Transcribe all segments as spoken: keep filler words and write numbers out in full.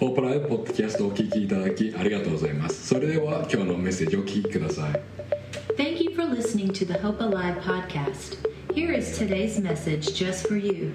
ホープライブポッドキャストをお聞きいただきありがとうございます。それでは今日のメッセージをお聞きください。 Thank you for listening to the Hope Alive podcast. Here is today's message just for you.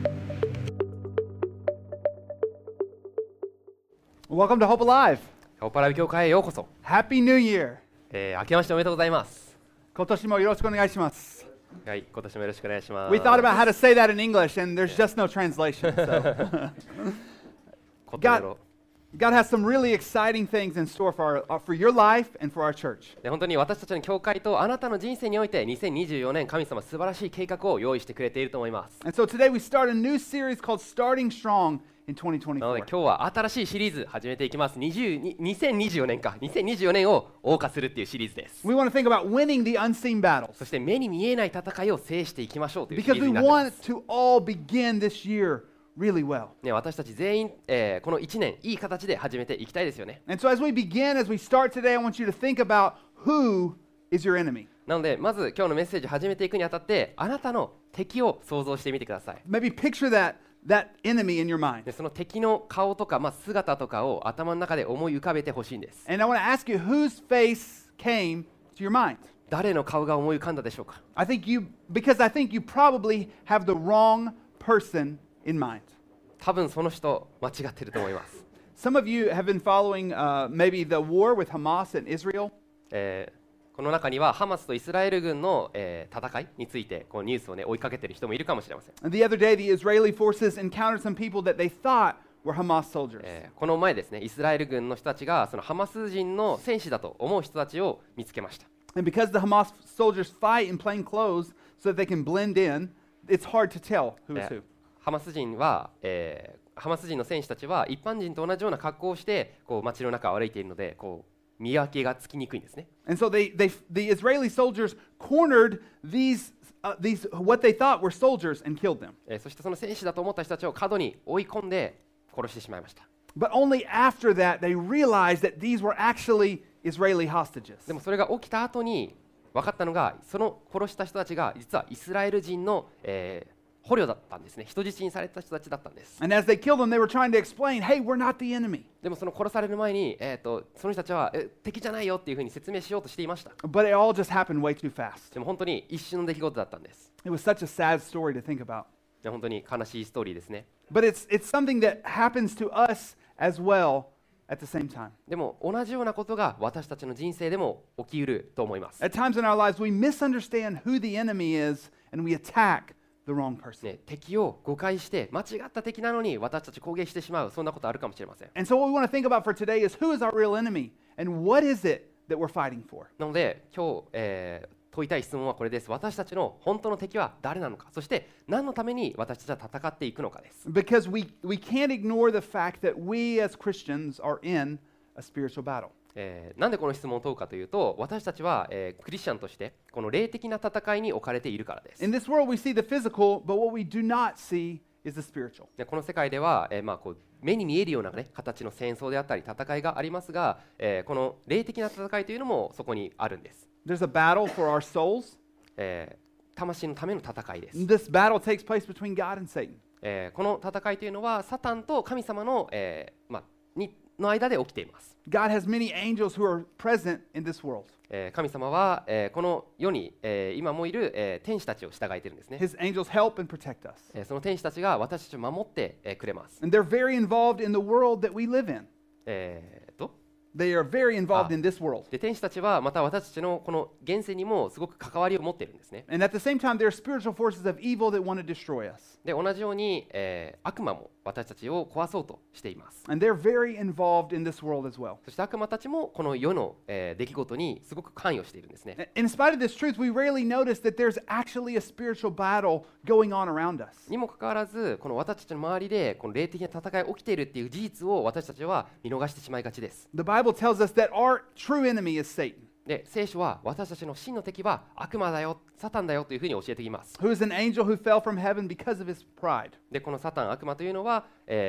Welcome to Hope Alive. ホープライブ教会へようこそ。 Happy New Year. えー、明けましておめでとうございます。 今年もよろしくお願いします。 はい、今年もよろしくお願いします。 We thought about how to say that in English, and there's just no translation. So. ことやろ God has some really exciting things in store for, our, for your life and for our church. で本当に私たちの教会とあなたの人生においてにせんにじゅうよねん神様素晴らしい計画を用意してくれていると思います。 And so today we start a new series called Starting Strong in なので twenty twenty-four. 今日は新しいシリーズ始めていきます。にじゅうに にせんにじゅうよねんかにせんにじゅうよねんを謳歌するっていうシリーズです。 We want to think about winning the unseen battles そして目に見えない戦いを制していきましょうというシ because リーズ we になっていま want す。 to all begin this year really well. ね、私たち全員、えー、このいちねんいい形で始めていきたいですよね。 And so as we begin, as we start today, I want you to think about who is your enemy. なのでまず今日のメッセージ始めていくにあたってあなたの敵を想像してみてください。 Maybe picture that, that enemy in your mind. でその敵の顔とか、まあ、姿とかを頭の中で思い浮かべてほしいんです。 And I want to ask you, whose face came to your mind? 誰の顔が思い浮かんだでしょうか。 I think you, because I think you probably have the wrong person in mind. 多分その人間違ってると思います。 Some of you have been following uh, maybe the war with Hamas and Israel. えーこの中にはハマスとイスラエル軍の、えー戦いについてこうニュースを、ね、追いかけている人もいるかもしれません。 And the other day, the Israeli forces encountered some people that they thought were Hamas soldiers. えーこの前ですね、イスラエル軍の人たちがそのハマス人の戦士だと思う人たちを見つけました。 And because the Hamas soldiers fight in plain clothes so that they can blend in, it's hard to tell who is え who. ーハマス人は、えーハマス人の戦士たちは一般人と同じような格好をしてこう街の中を歩いているのでこう見分けがつきにくいんですね。 And so they, they, the Israeli soldiers cornered these, uh, these, what they thought were soldiers and killed them. えーそしてその戦士だと思った人たちを角に追い込んで殺してしまいました。 But only after that they realized that these were actually Israeli hostages. でもそれが起きた後に分かったのがその殺した人たちが実はイスラエル人の、えー捕虜だったんですね。人質にされた人たちだったんです。 And as they killed them, they were trying to explain, hey, we're not the enemy. でもその殺される前に、えー、とその人たちはえ敵じゃないよっていうふうに説明しようとしていました。 But it all just happened way too fast. でも本当に一瞬の出来事だったんです。 It was such a sad story to think about. で本当に悲しいストーリーですね。 But it's, it's something that happens to us as well at the same time. でも同じようなことが私たちの人生でも起きうると思います。 At times in our lives, we misunderstand who the enemy is and we attack the wrong person. ね、敵を誤解して間違った敵なのに私たち攻撃してしまうそんなことあるかもしれません。 And so what we want to think about for today is who is our real enemy and what is it that we're fighting for? なので今日、えー問いたい質問はこれです。私たちの本当の敵は誰なのか、そして何のために私たちは戦っていくのかです。 Because we, we can't ignore the fact that we as Christians are in a spiritual battle. えーなんでこの質問を問うかというと、私たちは、えークリスチャンとしてこの霊的な戦いに置かれているからです。 In this world, we see the physical, but what we do not see is the spiritual. でこの世界では、えーまあ、こう目に見えるような、ね、形の戦争であったり戦いがありますが、えーこの霊的な戦いというのもそこにあるんです。 There's a battle for our souls. えー魂のための戦いです。 This battle takes place between God and Satan. えーこの戦いというのはサタンと神様の、えーまあ、にの間で起きています。 God has many angels who are present in this world. えー神様は、えーこの世に、えー今もいる、えー天使たちを従えているんですね。 His angels help and protect us. えーその天使たちが私たちを守って、えーくれます。 And they're very involved in the world that we live in. えーと They are very involved Ah. in this world. で天使たちはまた私たちのこの現世にもすごく関わりを持っているんですね。 And at the same time, there are spiritual forces of evil that want to destroy us. で同じように、えー悪魔も私たちを壊そうとしています。 And they're very involved in this world as well. そして悪魔たちもこの世の、えー出来事にすごく関与しているんですね。 In spite of this truth, we rarely notice that there's actually a spiritual battle going on around us. にもかかわらずこの私たちの周りでこの霊的な戦いが起きているっていう事実を私たちは見逃してしまいがちです。 The Bible tells us that our true enemy is Satan, で聖書は私たちの真の敵は悪魔だよ、サタンだよというふうに教えています。 who is an angel who fell from heaven because of his pride. でこのサタン、悪魔というのは、えー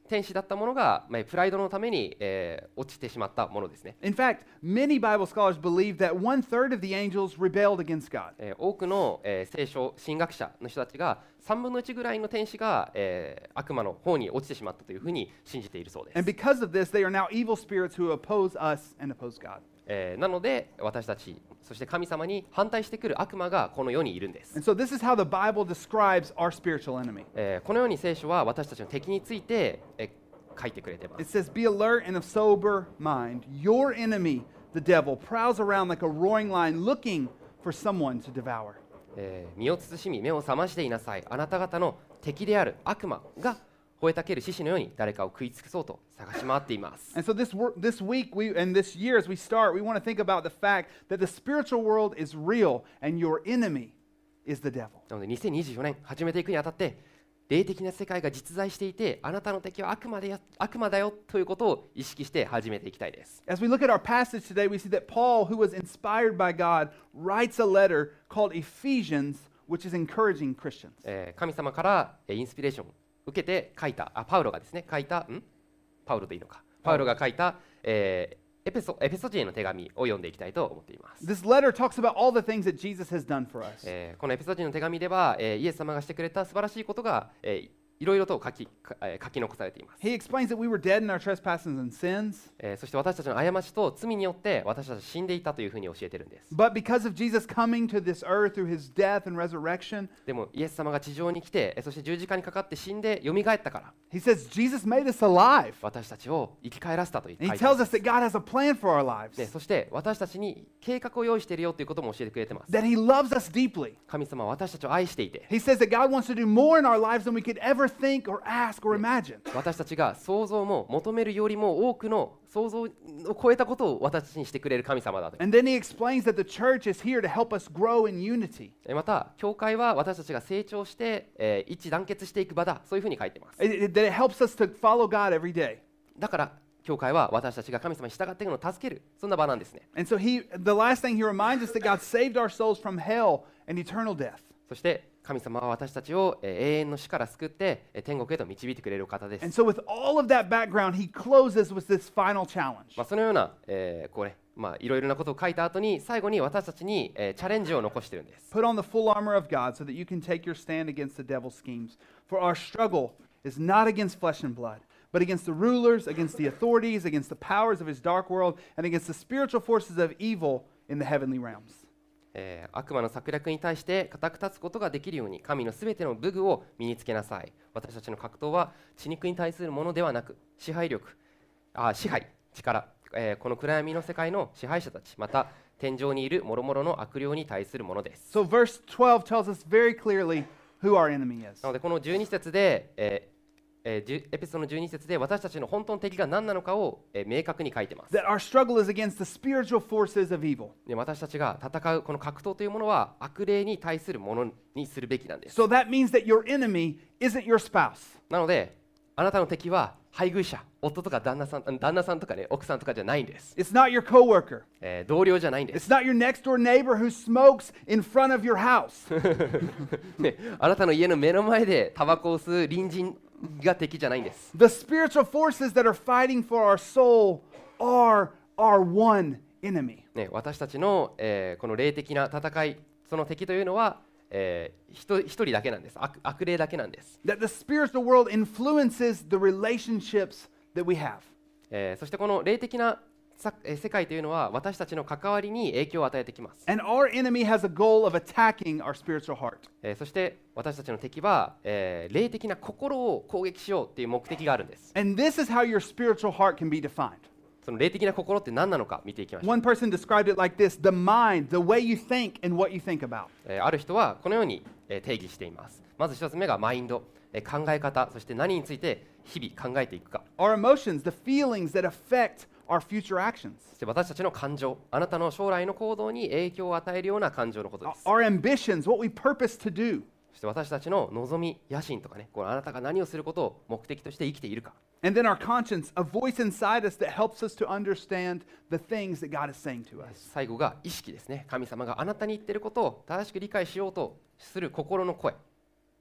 天使だったものが、まあ、プライドのために、えー落ちてしまったものですね。 In fact, many Bible scholars believe that one third of the angels rebelled against God. えー多くの、えー聖書神学者の人たちがさんぶんのいちぐらいの天使が、えー悪魔の方に落ちてしまったというふうに信じているそうです。 And because of this, they are now evil spirits who oppose us and oppose God. えーなので私たちそして神様に反対してくる悪魔がこの世にいるんです。 And so this is how the Bible describes our spiritual enemy. えーこのように聖書は私たちの敵について、えー書いてくれていま It す。 says, Be alert and of sober mind. Your enemy, the devil, prowls around like a roaring lion looking for someone to devour. えー身を慎み目を覚ましていなさい。あなた方の敵である悪魔が吠えたける獅子のように誰かを食い尽くそうと探し回っています。 And so this wor- this week we and this year as we start, we want to think about the fact that the spiritual world is real and your enemy is the devil. なのでにせんにじゅうよねん始めていくにあたって霊的な世界が実在していてあなたの敵は悪魔でや悪魔だよということを意識して始めていきたいです。 As we look at our passage today, we see that Paul, who was inspired by God, writes a letter called Ephesians, which is encouraging Christians. えー神様からえーインスピレーションを受けて書いたあパウロがですね書いたんパウロでいいのかパウロが書いた、えーエペソエペソ人への手紙を読んでいきたいと思っています。 This letter talks about all the things that Jesus has done for us. えーこのエペソ人の手紙では、えーイエス様がしてくれた素晴らしいことが、えーいろいろと書き、かえー書き残されています。 He explains that we were dead in our trespasses and sins, えーそして私たちの過ちと罪によって私たちは死んでいたというふうに教えてるんです。 but because of Jesus coming to this earth through his death and resurrection, でもイエス様が地上に来て、えーそして十字架にかかって死んで蘇ったから、 he says Jesus made us alive. 私たちを生き返らせたと言って書 And い he てあ tells る us that God has a plan for our lives, でそして私たちに計画を用意しているよということも教えてくれてます。 that he loves us deeply. 神様は私たちを愛していて、 He says that God wants to do more in our lives than we could ever think or ask or imagine. 私たちが想像も求めるよりも多くの想像を超えたことを私たちにしてくれる神様だと。 And then he explains that the church is here to help us grow in unity. えまた、教会は私たちが成長して、えー一致団結していく場だ、そういうふうに書いてます。 It- it- that it helps us to follow God every day. だから、教会は私たちが神様に従っていくのを助ける、そんな場なんですね。 And so he, the last thing he reminds us that God saved our souls from hell and eternal death. そして、神様は私たちを、えー永遠の死から救って、えー天国へと導いてくれる方です。 And so with all of that background, he closes with this final challenge. まあ、そのような、えーこれ、まあ、いろいろなことを書いた後に、最後に私たちに、えーチャレンジを残してるんです。 Put on the full armor of God so that you can take your stand against the devil's schemes. For our struggle is not against flesh and blood, but against the rulers, against the authorities, against the powers of his dark world, and against the spiritual forces of evil in the heavenly realms. えー悪魔の策略に対して固く立つことができるように神のすべての武具を身につけなさい。私たちの格闘は血肉に対するものではなく支配力あ支配力、えーこの暗闇の世界の支配者たちまた天上にいる諸々の悪霊に対するものです。 So verse twelve tells us very clearly who our enemy is. なのでこのじゅうに節で、えーえーじゅエペソのじゅうに節で私たちの本当の敵が何なのかを、えー明確に書いてます。 That our struggle is against the spiritual forces of evil. で私たちが戦うこの格闘というものは悪霊に対するものにするべきなんです。 So that means that your enemy isn't your spouse. なのであなたの敵は配偶者、夫とか旦那さん、旦那さんとかね、奥さんとかじゃないんです。 It's not your coworker. えー同僚じゃないんです It's。not your next door neighbor who smokes in front of your house. ね、あなたの家の目の前でタバコを吸う隣人が敵じゃないんです。 The spiritual forces that are fighting for our soul are our one enemy. ね、私たちの、えーこの霊的な戦い、その敵というのは、えー一人一人だけなんです。悪、悪霊だけなんです。 That the spiritual world influences the relationships that we have. えーそしてこの霊的なさえー世界というのは私たちの関わりに影響を与えてきます。 And our enemy has a goal of attacking our spiritual heart. えーそして私たちの敵は、えー霊的な心を攻撃しようという目的があるんです。 And this is how your spiritual heart can be defined. その霊的な心って何なのか見ていきましょう。 One person described it like this: the mind, the way you think, and what you think about. えーある人はこのように、えー定義しています。まず一つ目がマインド、えー考え方、そして何について日々考えていくか。 Our emotions, the feelings that affect our future actions. そして私たちの感情、あなたの将来の行動に影響を与えるような感情のことです。 Our ambitions, what we purpose to do. そして私たちの望み、野心とかね、このあなたが何をすることを目的として生きているか。 And then our conscience, a voice inside us that helps us to understand the things that God is saying to us. 最後が意識ですね。神様があなたに言っていることを正しく理解しようとする心の声。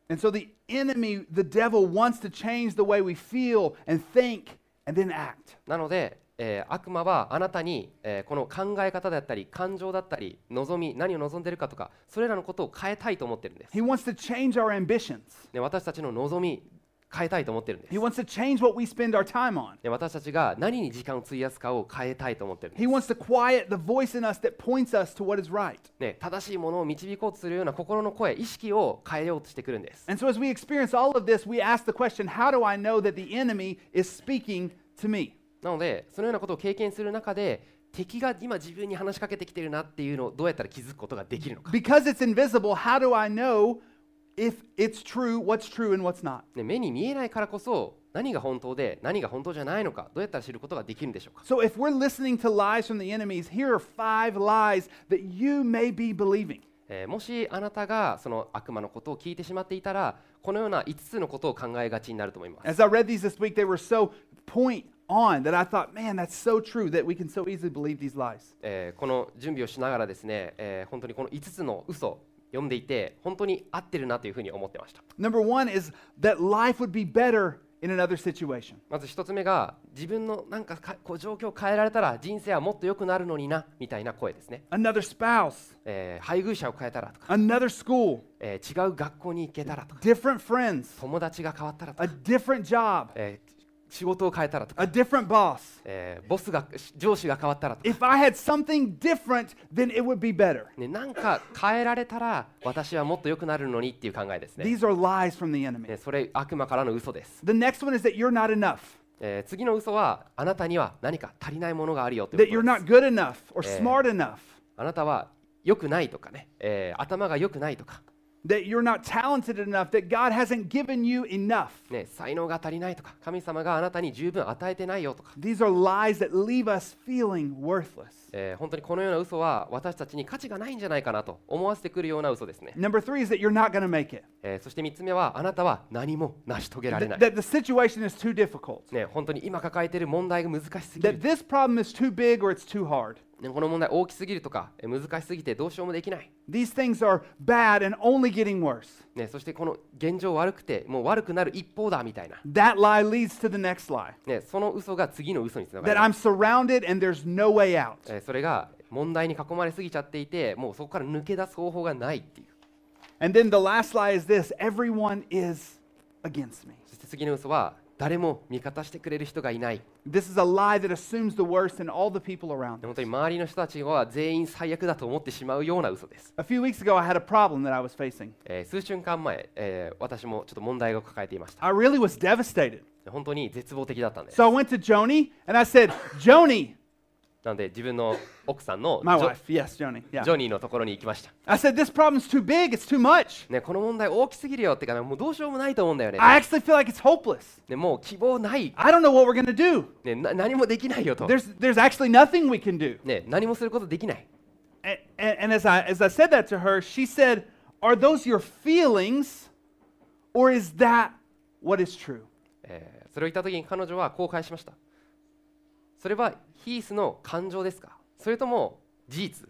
And so the enemy, the devil, wants to change the way we feel and think and then act. なので、えー悪魔はあなたに、えーこの考え方だったり感情だったり望み何を望んでいるかとかそれらのことを変えたいと思ってるんです。 He wants to change our ambitions. で私たちの望み変えたいと思ってるんです He。wants to change what we spend our time on. で私たちが何に時間を費やすかを変えたいと思ってるんです He wants to quiet the voice in us that points us to what is right. ね、正しいものを導こうとするような心の声、意識を変えようとしてくるんです。 And so as we experience all of this, we ask the question, how do I know that the enemy is speaking to me? なので、そのようなことを経験する中で、敵が今自分に話しかけてきてるなっていうのをどうやったら気づくことができるのか。 Because it's invisible, how do I know if it's true, what's true and what's not? ね、目に見えないからこそ、何が本当で何が本当じゃないのか、どうやったら知ることができるんでしょうか。 So if we're listening to lies from the enemies, here are five lies that you may be believing. えーもしあなたがその悪魔のことを聞いてしまっていたら、このようないつつのことを考えがちになると思います。 As I read these this week, they were so point on that I thought, man, that's so true that we can so easily believe these lies. えーこの準備をしながらですね、えー本当にこのいつつの嘘を読んでいて、本当に合ってるなというふうに思ってました。 Number one is that life would be better in another situation. まず一つ目が、自分のなんかかこう状況を変えられたら人生はもっと良くなるのになみたいな声ですね。 Another spouse, えー配偶者を変えたらとか、 another school, えー違う学校に行けたらとか、 different friends, 友達が変わったらと a か、 different job, えー仕事を変えたらとか、 a different boss. えーボスが上司が変わったらとか、 If I had something different, then it would be better. ね、なんか変えられたら私はもっと良くなるのにっていう考えですね。 These are lies from the enemy. ねそれ悪魔からの嘘です。 The next one is that you're not enough, えー次の嘘は、あなたには何か足りないものがあるよとい that う you're ことで not す。 good enough or Eh. smart enough, あなたは良くないとかね、えー頭が良くないとか、 that you're not talented enough, that God hasn't given you enough. ね、才能が足りないとか、神様があなたに十分与えてないよとか、 These are lies that leave us feeling worthless. えー本当にこのような嘘は私たちに価値がないんじゃないかなと思わせてくるような嘘ですね。 Number three is that you're not going to make it, えーそしてみっつめは、あなたは何も成し遂げられ that, ない。 that the situation is too difficult, ね、本当に今抱えている問題が難しすぎ that る、 this problem is too big or it's too hard. ね、この問題大きすぎるとか、えー難しすぎてどうしようもできない、 These things are bad and only getting worse. ね、そしてこの現状悪くてもう悪くなる一方だみたいな、 That lie leads to the next lie, ね、その嘘が次の嘘につなが that る、 I'm surrounded and there's no way out. えーそれが問題に囲まれすぎちゃっていて、もうそこから抜け出す方法がないっていう。 And then the last lie is this: everyone is against me. そして次の嘘は、誰も味方してくれる人がいない。 This is a lie that assumes the worst in all the people around 本 us. 当に周りの人たちは全員最悪だと思ってしまうような嘘です。 A few weeks ago, I had a problem that I was facing. えー数週間前、えー私もちょっと問題を抱えていました。 I really was devastated. 本当に絶望的だったんです。 So I went to Joni and I said, Joni, なので自分の奥さんのジ my ョ wife, yes, Joni, ジ yeah. ョニーのところに行きました。 I said, this problem's too big, it's too much. ね、この問題大きすぎるよってか、ね、もうどうしようもないと思うんだよね。 I actually feel like it's hopeless. ねもう希望ない、 I don't know what we're going to do. ね、な何もできないよと、 There's, there's actually nothing we can do. ね、何もすることできない。 And, and, and as, I, as I said that to her, she said, are those your feelings or is that what is true? えーそれを言った時に彼女はこう返しました。それはヒースの感情ですか、それとも事実？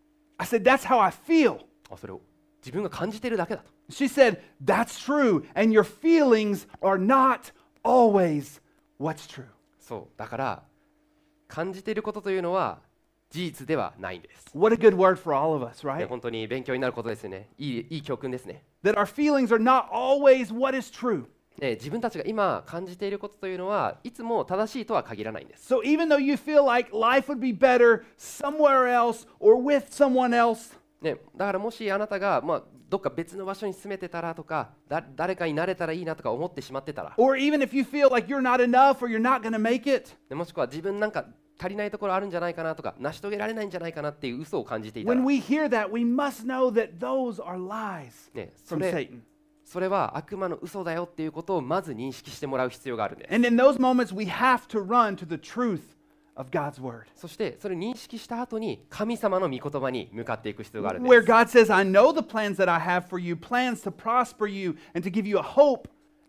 I said, that's how I feel. あそれを自分が感じているだけだと。 She said, that's true. And your feelings are not always what's true. そうだから感じていることというのは事実ではないんです。 What a good word for all of us, ね right? 本当に勉強になることですよね。いいいい教訓ですね。 That our feelings are not always what is true. ね自分たちが今感じていることというのはいつも正しいとは限らないんです。 So even though you feel like life would be better somewhere else or with someone else, ね、だからもしあなたが、まあ、どっか別の場所に住めてたらとかだ誰かになれたらいいなとか思ってしまってたら、 or even if you feel like you're not enough or you're not going to make it, ねもしくは自分なんか足りないところあるんじゃないかなとか成し遂げられないんじゃないかなっていう嘘を感じていたら、 when we hear that, we must know that those are lies ね、そ from れ Satan. それは悪魔の嘘だよっていうことをまず認識してもらう必要があるんです。 And in those moments, we have to run to the truth of God's word. そしてそれを認識した後に神様の御言葉に向かっていく必要があるんで Where す。 God says, I know the plans that I have for you, plans to prosper you and to give you a hope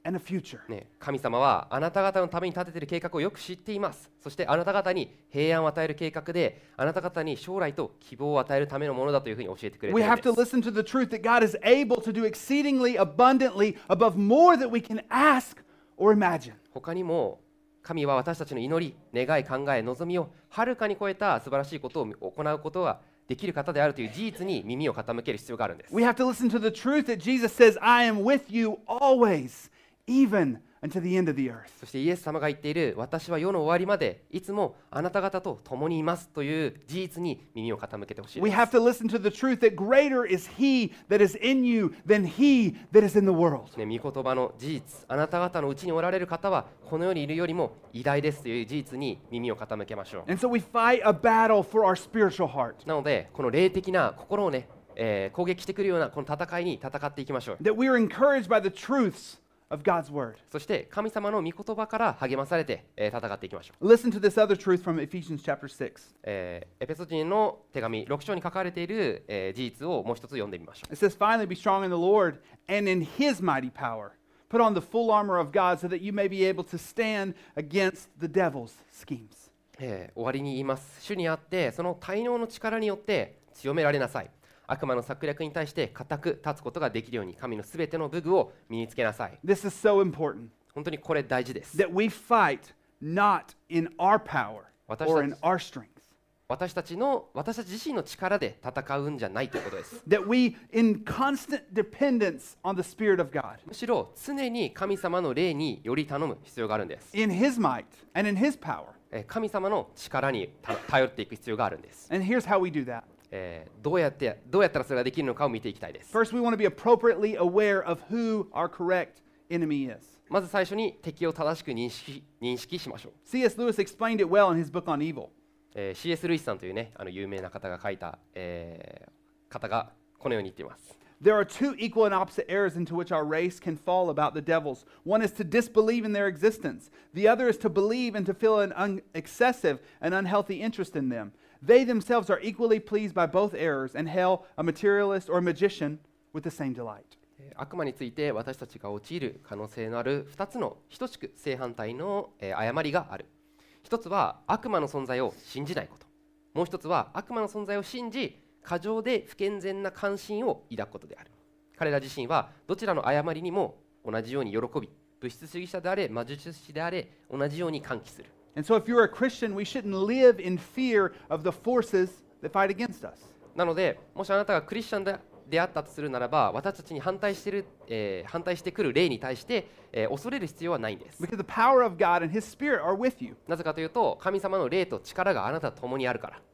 and a future. ね、神様はあなた方のために立てている計画をよく知っています。そしてあなた方に平安を与える計画で、あなた方に将来と希望を与えるためのものだというふうに教えてくれてい We るん have で to す。 listen to the truth that God is able to do exceedingly abundantly above more that we can ask or imagine. 他にも神は私たちの祈り、願い、考え、望みをはるかに超えた素晴らしいことを行うことができる方であるという事実に耳を傾ける必要があるんです。 We have to listen to the truth that Jesus says, I am with you always, even unto the end of the earth. そしてイエス様が言っている私は世の終わりまでいつもあなた方と共にいますという事実に耳を傾けてほしい We です。 have to listen to the truth that greater is He that is in you than He that is in the world. ね、御言葉の事実、あなた方のうちにおられる方はこの世にいるよりも偉大ですという事実に耳を傾けましょう。 And so we fight a battle for our spiritual heart, なのでこの霊的な心をね、えー攻撃してくるようなこの戦いに戦っていきましょう。 that we are encouraged by the truths of God's word. そして神様の御言葉から励まされて、えー戦っていきましょう。 Listen to this other truth from Ephesians chapter six. えーエペソ人の手紙ろく章に書かれている、えー事実をもう一つ読んでみましょう。 It says, Finally, be strong in the Lord and in His mighty power. Put on the full armor of God so that you may be able to stand against the devil's schemes. えー終わりに言います。主にあってその大能の力によって強められなさい。悪魔の策略に対して固く立つことができるように神のすべての武具を身につけなさい。 This is so important 本当にこれ大事です。 that we fight not in our power or in our strength. 私たちの私たち自身の力で戦うんじゃないということです。 That we, in constant dependence on the Spirit of God, むしろ常に神様の霊により頼む必要があるんです。 in His might and in His power. えー神様の力にた頼っていく必要があるんです。 And here's how we do that. えーどうやってどうやったらそれができるのかを見ていきたいです。 First, we want to be appropriately aware of who our correct enemy is. まず最初に敵を正しく認識認識しましょう。 C S. Lewis explained it well in his book on evil. えー シーエス ルイスさんというねあの有名な方が書いた、えー方がこのように言っています。 There are two equal and opposite errors into which our race can fall about the devils. One is to disbelieve in their existence. The other is to believe and to feel an un- excessive and unhealthy interest in them. They themselves are equally pleased by both errors and hail a materialist or a magician with the same delight. えー悪魔について私たちが陥る可能性のあるふたつの等しく正反対の、えー誤りがある。一つは悪魔の存在を信じないこと。もう一つは悪魔の存在を信じ過剰で不健全な関心を抱くことである。彼ら自身はどちらの誤りにも同じように喜び、物質主義者であれ魔術師であれ同じように歓喜する。 And so, if you're a Christian, we shouldn't live in fear of the forces that fight against us. なので、もしあなたがクリスチャンでであったとするならば、私たちに反対している、えー反対してくる霊に対して、えー恐れる必要はないんです。 Because the power of God and His Spirit are with you. なぜかというと、神様の霊と力があなたと共にあるから。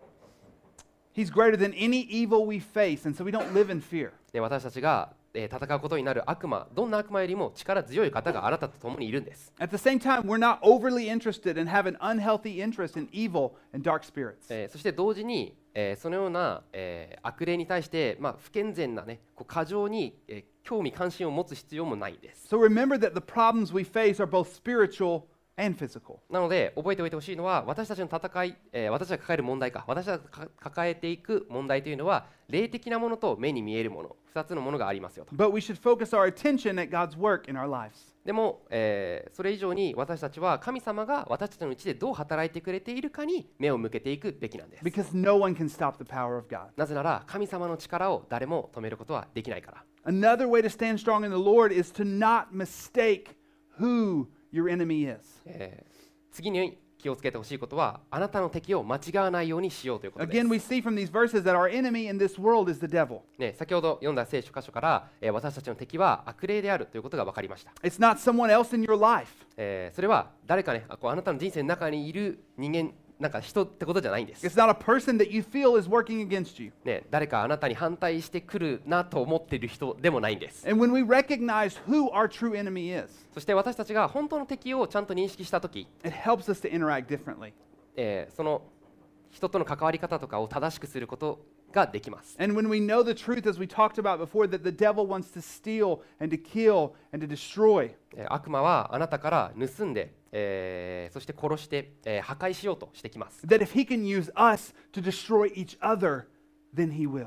He's greater than any evil we face, and so we don't live in fear. で私たちが、えー戦うことになる悪魔、どんな悪魔よりも力強い方があなたと共にいるんです。 At the same time, we're not overly interested and have an unhealthy interest in evil and dark spirits. えーそして同時に、えーそのような、えー悪霊に対して、まあ、不健全な、ね、こう過剰に、えー興味関心を持つ必要もないんです。 So remember that the problems we face are both spiritual and physical. なので覚えておいてほしいのは私たちの戦い、えー私たちが抱える問題か私たちが抱えていく問題というのは霊的なものと目に見えるものふたつのものがありますよと。 But we should focus our attention at God's work in our lives. でも、えーそれ以上に私たちは神様が私たちのうちでどう働いてくれているかに目を向けていくべきなんです。 Because no one can stop the power of God. なぜなら神様の力を誰も止めることはできないから。 Another way to stand strong in the Lord is to not mistake who your enemy is. えー次に気をつけてほしいことはあなたの敵を間違わないようにしようということです Again, we see from these verses that our enemy in this world is the devil. ね、先ほど読んだ聖書箇所から、えー私たちの敵は悪霊であるということが分かりました。 It's not someone else in your life. えーそれは誰かねあこうあなたの人生の中にいる人間なんか人ってことじゃないんです、 It's not a person that you feel is working against you. ね、誰かあなたに反対してくるなと思っている人でもないんです。 And when we recognize who our true enemy is, そして私たちが本当の敵をちゃんと認識したとき、 it helps us to interact differently. えーその人との関わり方とかを正しくすることができます。 And when we know the truth, as we talked about before, that the devil wants to steal and to kill and to destroy, えー悪魔はあなたから盗んで、えーそして殺して、えー破壊しようとしてきます。 that if he can use us to destroy each other, then he will.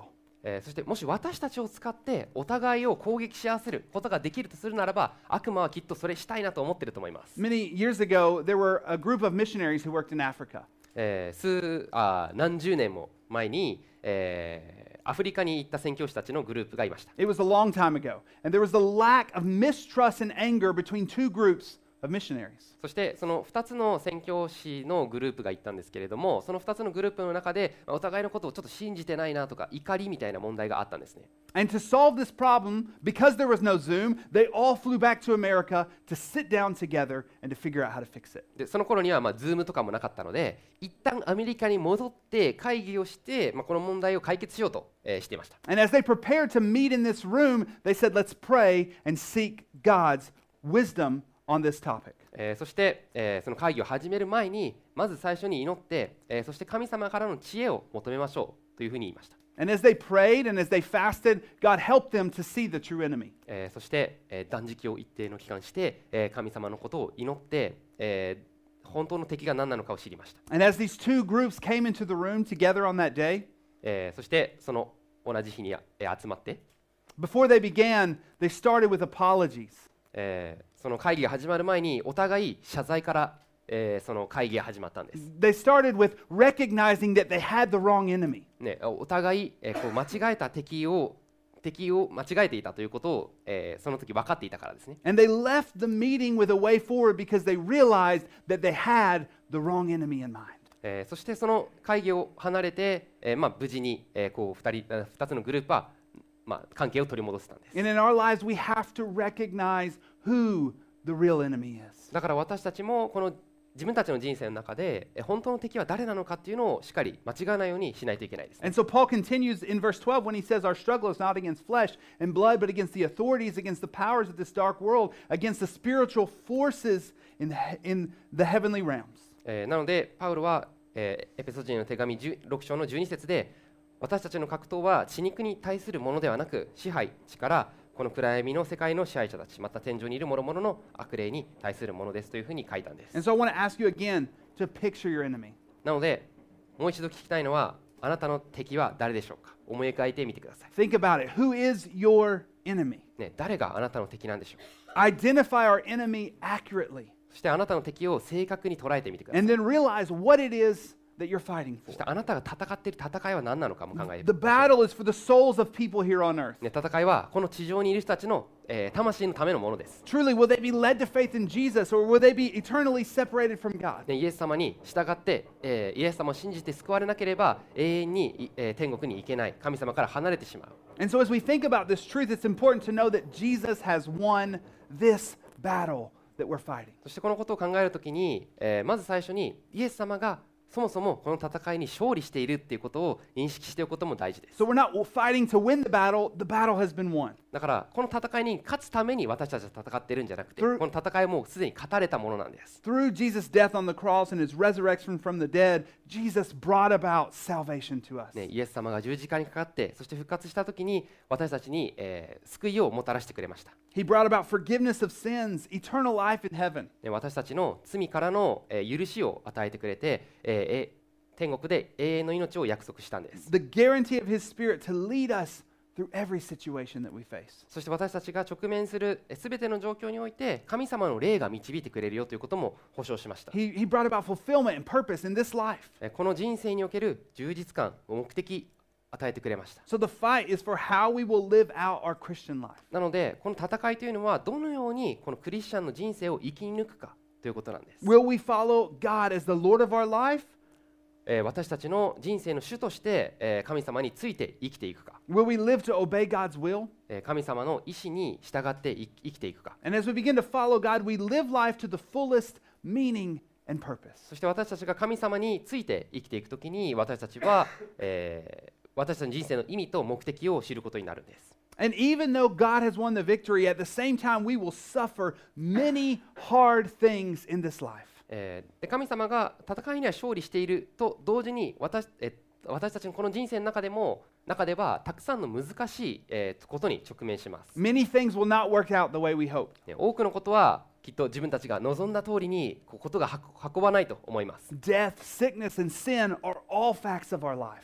えーそしてもし私たちを使ってお互いを攻撃し合わせることができるとするならば、悪魔はきっとそれしたいなと思っていると思います。 Many years ago, there were a group of missionaries who worked in Africa. えー数あ何十年も前に、えーアフリカに行った宣教師たちのグループがいました。 It was a long time ago. And there was a lack of mistrust and anger between two groups of missionaries. そしてそのふたつの宣教師のグループが行ったんですけれども、そのふたつのグループの中でお互いのことをちょっと信じてないなとか怒りみたいな問題があったんですね。 And to solve this problem, because there was no Zoom, they all flew back to America to sit down together and to figure out how to fix it. でその頃にはまあ Zoom とかもなかったので、一旦アメリカに戻って会議をして、まあ、この問題を解決しようと、えーしていました。 And as they prepared to meet in this room, they said, let's pray and seek God's wisdom on this topic. えーそして、えーその会議を始める前にまず最初に祈って、えーそして神様からの知恵を求めましょうというふうに言いました。 And as they prayed and as they fasted, God helped them to see the true enemy. えーそして、えー断食を一定の期間して、えー神様のことを祈って、えー本当の敵が何なのかを知りました。 And as these two groups came into the room together on that day, えーそしてその同じ日に、えー集まって、 before they began, they started with apologies. えーその会議が始まる前にお互い謝罪から、えーその会議が始まったんです。 They started with recognizing that they had the wrong enemy. ね、お互い、えーこう間違えた敵を敵を間違えていたということを、えーその時分かっていたからですね。 And they left the meeting with a way forward because they realized that they had the wrong enemy in mind. えーそしてその会議を離れて、えーまあ、無事に、えーこうふたりふたつのグループは、まあ、関係を取り戻せたんです。 And in our lives, we have to recognize who the real enemy is. だから私たちもこの自分たちの人生の中でえー本当の敵は誰なのかっていうのをしっかり間違わないようにしないといけないですね。 And so Paul continues in verse twelve when he says, Our struggle is not against flesh and blood, but against the authorities, against the powers of this dark world, against the spiritual forces in the, in the heavenly realms. えーなのでパウロは、えーエペソ人への手紙じゅうろく章のじゅうに節で、私たちの格闘は血肉に対するものではなく、支配、力、この暗闇の世界の支配者たち、また天上にいる諸々の悪霊に対するものですというふうに書いたんです。 And so I want to ask you again to picture your enemy. なのでもう一度聞きたいのは、あなたの敵は誰でしょうか。思い描いてみてください。 Think about it. Who is your enemy? ね、誰があなたの敵なんでしょう。 Identify our enemy accurately そしてあなたの敵を正確に捉えてみてください。 and then realize what it is that you're fighting そし for. てあなたが戦っている戦いは何なのかも考えて The ください。 battle is for the souls of people here on earth. ね、戦いはこの地上にいる人たちの、えー魂のためのものです。 Truly, will they be led to faith in Jesus or will they be eternally separated from God? ね、イエス様に従って、えーイエス様を信じて救われなければ永遠に、いえー天国に行けない、神様から離れてしまう。 And so, as we think about this truth, it's important to know that Jesus has won this battle that we're fighting. そしてこのことを考えるときに、えーまず最初にイエス様がそもそもこの戦いに勝利しているっていうことを認識しておくことも大事です。 So, we're not fighting to win the battle, the battle has been won. だからこの戦いに勝つために私たちは戦っているんじゃなくて、こ Through- の戦いはもうすでに勝たれたものなんです。 Through Jesus' death on the cross and his resurrection from the dead, Jesus brought about salvation to us. ね、イエス様が十字架にかかってそして復活したときに私たちに、えー救いをもたらしてくれました。 He brought about forgiveness of sins, eternal life in heaven. ね、私たちの罪からの、えー許しを与えてくれて、えーえ天国で永遠の命を約束したんです。 The guarantee of his spirit to lead us through every situation that we face. そして私たちが直面するすべての状況において神様の霊が導いてくれるよということも保証しました。 He, he brought about fulfillment and purpose in this life. えこの人生における充実感、目的与えてくれました。 So the fight is for how we will live out our Christian life. なのでこの戦いというのはどのようにこのクリスチャンの人生を生き抜くかということなんです。 Will we follow God as the Lord of our life? えー私たちの人生の主として、えー神様について生きていくか、 Will we live to obey God's will? えー神様の意志に従ってい生きていくか。 And as we begin to follow God, we live life to the fullest meaning and purpose. そして私たちが神様について生きていくときに私たちは、えー私たちの人生の意味と目的を知ることになるんです。 And even though God has won the victory, at the same time, we will suffer many hard things in this life. えーで神様が戦いには勝利していると同時に 私,、え私たちのこの人生の中でも中ではたくさんの難しい、えーことに直面します、 Many things will not work out the way we hoped. ね多くのことはきっと自分たちが望んだ通りにこうことが運運ばないと思います、 Death, sickness, and sin are all facts of our life. ね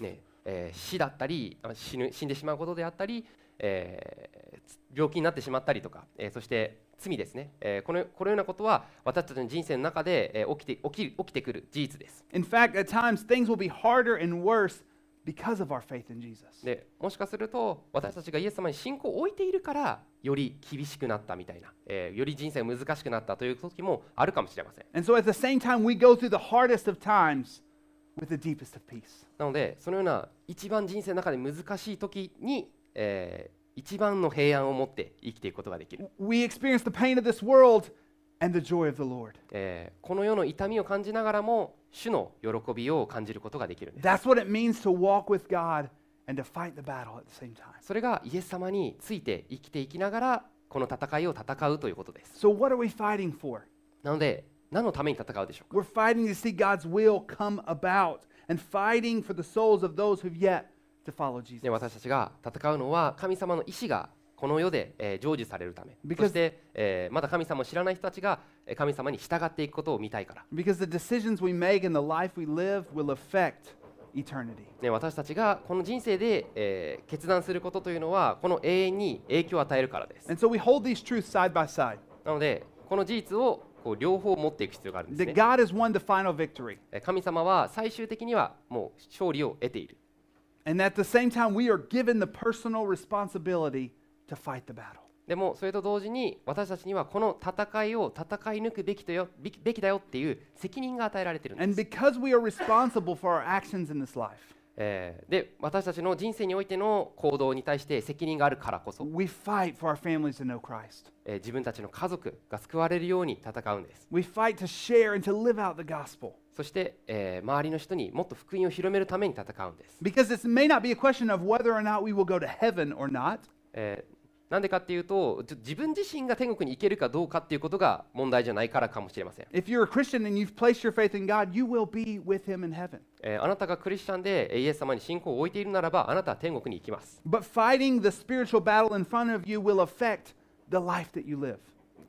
えー死だったりあ死ぬ死んでしまうことであったり、えー病気になってしまったりとか、えーそして罪ですね、えーこのこのようなことは私たちの人生の中で、えー起きて起き起きてくる事実です。 In fact, at times things will be harder and worse because of our faith in Jesus. でもしかすると私たちがイエス様に信仰を置いているからより厳しくなったみたいな、えーより人生が難しくなったという時もあるかもしれません。 And so at the same time, we go through the hardest of times with the deepest of peace. なのでそのような一番人生の中で難しい時に、えー一番の平安を持って生きていくことができる、 We experience the pain of this world and the joy of the Lord. えーこの世の痛みを感じながらも主の喜びを感じることができるんです。 That's what it means to walk with God and to fight the battle at the same time. それがイエス様について生きていきながらこの戦いを戦うということです。 So what are we fighting for? なので何のために戦うでしょうか。 We're fighting to see God's will come about and fighting for the souls of those who've yet to follow Jesus. で私たちが戦うのは神様の意志がこの世で、えー成就されるため、 Because- そして、えーまだ神様を知らない人たちがえー神様に従っていくことを見たいから、 Because the decisions we make and the life we live will affect eternity. ね、私たちがこの人生で、えー決断することというのはこの永遠に影響を与えるからです。 And so we hold these truths side by side. なのでこの事実をこう両方持っていく必要があるんです That ね。 God has won the final victory. えー神様は最終的にはもう勝利を得ている。 And at the same time, we are given the personal responsibility to fight the battle. でもそれと同時に私たちにはこの戦いを戦い抜くべきとよべきべきだよっていう責任が与えられているんで And す。 because we are responsible for our actions in this life, えーで私たちの人生においての行動に対して責任があるからこそ、 we fight for our families to know Christ. えー自分たちの家族が救われるように戦うんです。 We fight to share and to live out the gospel. そして、えー周りの人にもっと福音を広めるために戦うんです。 Because this may not be a question of whether or not we will go to heaven or not. えーなんでかっていうとじ自分自身が天国に行けるかどうかっていうことが問題じゃないからかもしれません。 If you're a Christian and you've placed your faith in God, you will be with Him in heaven. えーあなたがクリスチャンでえーイエス様に信仰を置いているならばあなたは天国に行きます。 But fighting the spiritual battle in front of you will affect the life that you live.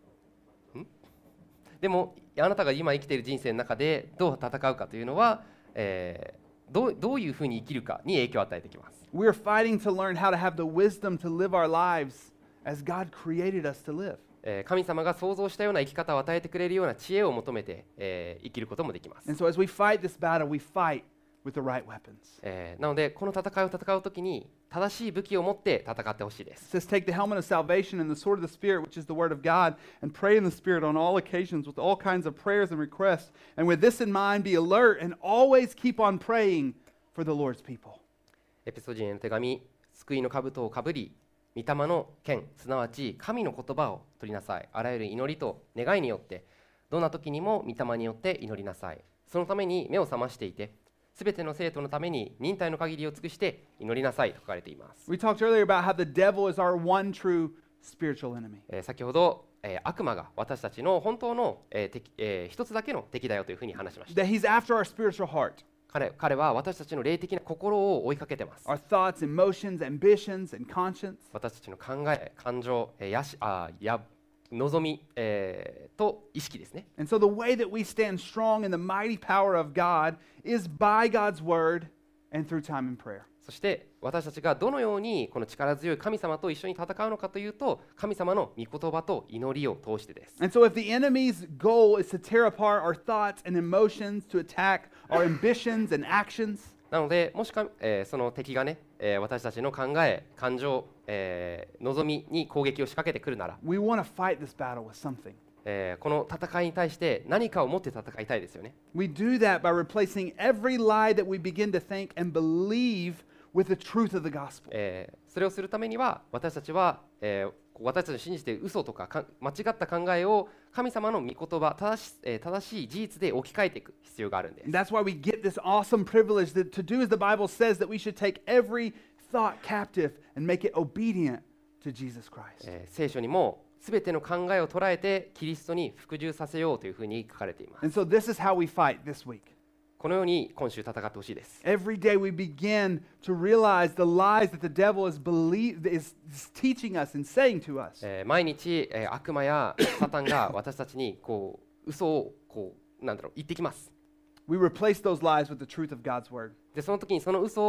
でもあなたが今生きている人生の中でどう戦うかというのは、えーどうどういうふうに生きるかに影響を与えてきます。 We're fighting to learn how to have the wisdom to live our lives as God created us to live. えー神様が創造したような生き方を与えてくれるような知恵を求めて、えー生きることもできます。 And so as we fight this battle, we fight with the right weapons. えーなのでこの戦いを戦うときに正しい武器を持って戦ってほしいで It す。 says, take the helmet of salvation and the sword of the Spirit, which is the word of God, and pray in the Spirit on all occasions with all kinds of prayers and requests. And with this in mind, be alert and always keep on praying for the Lord's people. エペソ人への手紙、救いの兜をかぶり、御霊の剣、すなわち神の言葉を取りなさい。あらゆる祈りと願いによって、どんな時にも御霊によって祈りなさい。そのために目を覚ましていて、すべての生徒のために忍耐の限りを尽くして祈りなさいと書かれています。 We talked earlier about how the devil is our one true spiritual enemy. えー先ほど、えー悪魔が私たちの本当の、えー敵えー一つだけの敵だよというふうに話しました。 That he's after our spiritual heart, 彼彼は私たちの霊的な心を追いかけてます。 our thoughts, emotions, ambitions, and conscience. 私たちの考え、感情、えーやしあや望み、えーと意識ですね。 And so the way that we stand strong in the mighty power of God is by God's word and through time and prayer. そして私たちがどのようにこの力強い神様と一緒に戦うのかというと、神様の御言葉と祈りを通してです。 And so if the enemy's goal is to tear apart our thoughts and emotions, to attack our ambitions and actions, なので、もしか、えーその敵がね、えー私たちの考え、感情、えー望みに攻撃を仕掛けてくるなら、 we want to fight this battle with something. えーこの戦いに対して何かを持って戦いたいですよね。 We do that by replacing every lie that we begin to think and believe with the truth of the gospel. えーそれをするためには私たちは、えー私たちの信じている嘘とかか間違った考えを神様の御言葉正し,、えー正しい事実で置き換えていく必要があるんです。 And that's why we get this awesome privilege that to do as the Bible says, that we should take every thought captive and make it obedient to Jesus Christ. えー聖書にもすべての考えを捉えてキリストに服従させようというふうに書かれています。 And so this is how we fight this week. このように今週戦ってほしいです。 Every day we begin to realize the lies that the devil is, believe, is, is teaching us and saying to us. えー毎日、えー悪魔やサタンが私たちにこう嘘をこうなんだろう言ってきます。 We replace those lies with the truth of God's word. でその時にその嘘を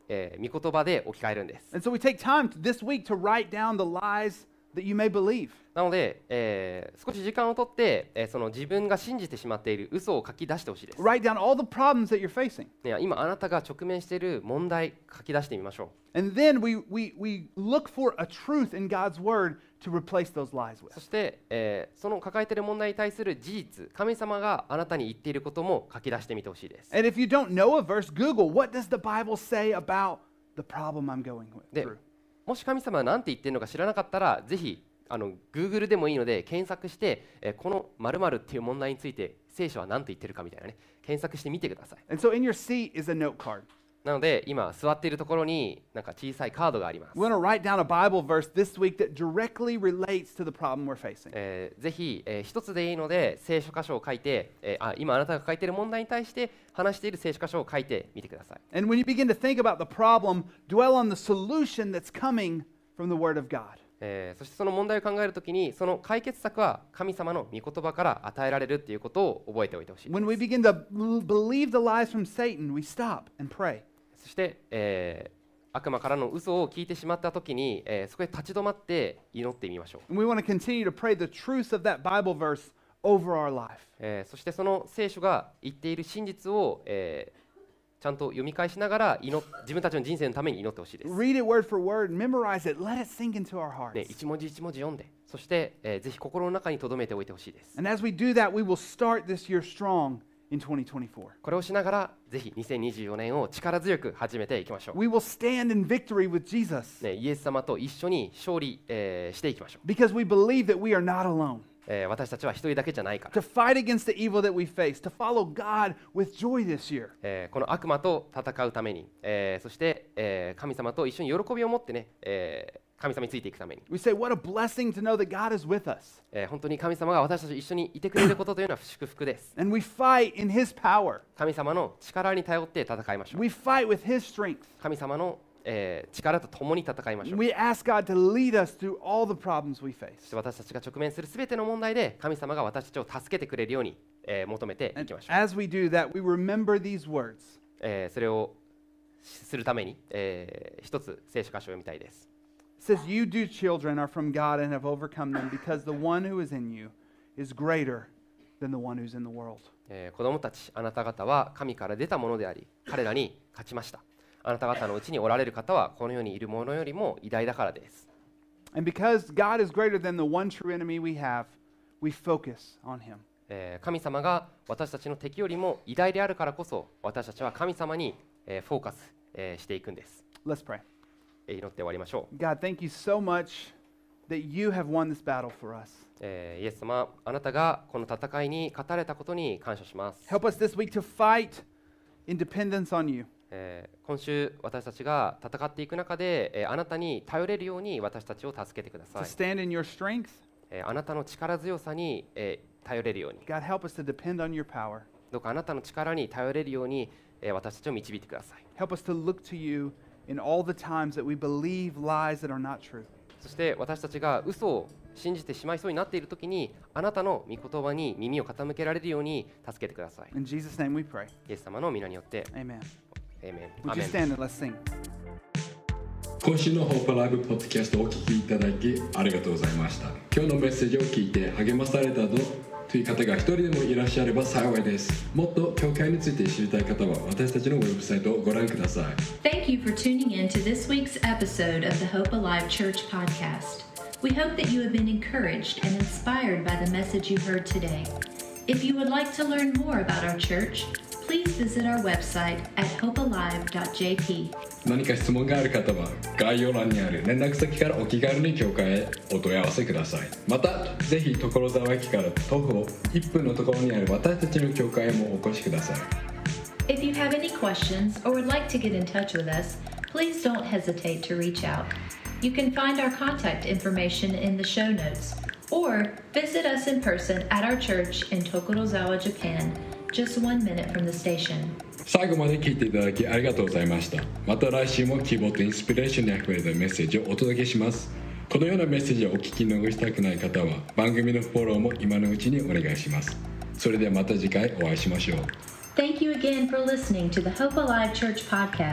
えー、御言葉で置き換えるんです。 And so we take time this week to write down the lies that you may believe. なので、えー、少し時間をとって、えー、その自分が信じてしまっている嘘を書き出してほしいです。 Write down all the problems that you're facing. ね、今あなたが直面している問題書き出してみましょう。 And then we, we, we look for a truth in God's word to replace those lies そ with. して、えー、その抱えている問題に対する事実、神様があなたに言っていることも書き出してみてほしいです。 And if you don't know a verse, Google, what does the Bible say about the problem I'm going で through? もし神様が何て言っているのか知らなかったら、ぜひあの Google でもいいので検索して、えー、この〇〇っていう問題について聖書は何と言ってるかみたいなね、検索してみてください。 And so in your seat is a note card. なので今座っているところになんか小さいカードがあります。 We want to write down a Bible verse this week that directly relates to the problem we're facing. えー、ぜひ、えー、一つでいいので聖書箇所を書いて、えー、あ今あなたが抱えている問題に対して話している聖書箇所を書いてみてください。 And when you begin to think about the problem, dwell on the solution that's coming from the Word of God. えー、そしてその問題を考えるときにその解決策は神様の御言葉から与えられるということを覚えておいてほしいです。 When we begin to b- believe the lies from Satan, we stop and pray. そして、えー、悪魔からの嘘を聞いてしまったときに、えー、そこで立ち止まって祈ってみましょう。 And we want to continue to pray the truth of that Bible verse over our life. えー、そしてその聖書が言っている真実を、えー、ちゃんと読み返しながら祈っ自分たちの人生のために祈ってほしいです。 Read it word for word, memorize it, let it sink into our ね、 hearts. 一文字一文字読んで、そして、えー、ぜひ心の中に留めておいてほしいです。 And as we do that, we will start this year strong in twenty twenty-four. これをしながらぜひにせんにじゅうよねんを力強く始めていきましょう。 We will stand in victory with Jesus ね、イエス様と一緒に勝利、えーしていきましょう。 because we believe that we are not alone. えー私たちは一人だけじゃないから、 To fight against the evil that we face, to follow God with joy this year. えーこの悪魔と戦うために、えーそして、えー神様と一緒に喜びを持ってね、えー神様についていくために、 We say, what a blessing to know that God is with us. えー本当に神様が私たちと一緒にいてくれることというのは祝福です。 And we fight in His power. 神様の力に頼って戦いましょう。 We fight with His strength. 神様の、えー力と共に戦いましょう。 We ask God to lead us through all the problems we そし face. て私たちが直面するすべての問題で神様が私たちを助けてくれるように、えー求めてい And きましょう。 as we do that, we remember these words. えーそれをするために、えー一つ聖書箇所を読みたいです。 It says, You, dear children, are from God and have overcome them because the one who is in you is greater than the one who's in the world. えー子供たち、あなた方は神から出たものであり、彼らに勝ちました。あなた方のうちにおられる方はこの世にいるものよりも偉大だからです。 And because God is greater than the one true enemy we have, we focus on Him. えー神様が私たちの敵よりも偉大であるからこそ、私たちは神様に、えーフォーカス、えーしていくんです。 Let's pray. えー祈って終わりましょう。 God, thank you so much that you have won this battle for us. えーイエス様、あなたがこの戦いに勝たれたことに感謝します。 Help us this week to fight in dependence on you. えー今週私たちが戦っていく中で、えーあなたに頼れるように私たちを助けてくださ To い。 stand in your strength. えーあなたの力強さに、えー頼れるように、 God, help us to depend on your power. どうかあなたの力に頼れるように、えー私たちを導いてください。 Help us to look to you in all the times that we believe lies that are not true. そして私たちが嘘を信じてしまいそうになっているときに、あなたの御言葉に耳を傾けられるように助けてください。 In Jesus' name we pray. イエス様の皆によって、 Amen. エーメン。 Would ア you メン。 stand and let's sing? 今週のホープライブポッドキャストをお聞きいただきありがとうございました。今日のメッセージを聞いて励まされたとという方が一人でもいらっしゃれば幸いです。もっと教会について知りたい方は私たちのウェブサイトをご覧ください。 Thank you for tuning in to this week's episode of the Hope Alive Church podcast. We hope that you have been encouraged and inspired by the message you heard today. If you would like to learn more about our church, please visit our website at hope alive dot j p. 何か質問がある方は概要欄にある連絡先からお気軽に教会へお問い合わせください。またぜひ所沢駅から徒歩いっぷんのところにある私たちの教会へもお越しください。 If you have any questions or would like to get in touch with us, please don't hesitate to reach out. You can find our contact information in the show notes or visit us in person at our church in Tokorozawa, Japan, just one minute from the station. 最後まで聞いていただきありがとうございました。また来週も希望とインスピレーションにあふれたメッセージをお届けします。このようなメッセージをお聞き逃したくない方は番組のフォローも今のうちにお願いします。それではまた次回お会いしましょう。 Thank you again for listening to the Hope Alive Church podcast.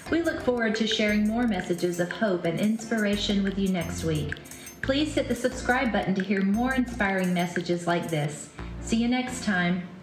We look forward to sharing more messages of hope and inspiration with you next week. Please hit the subscribe button to hear more inspiring messages like this. See you next time.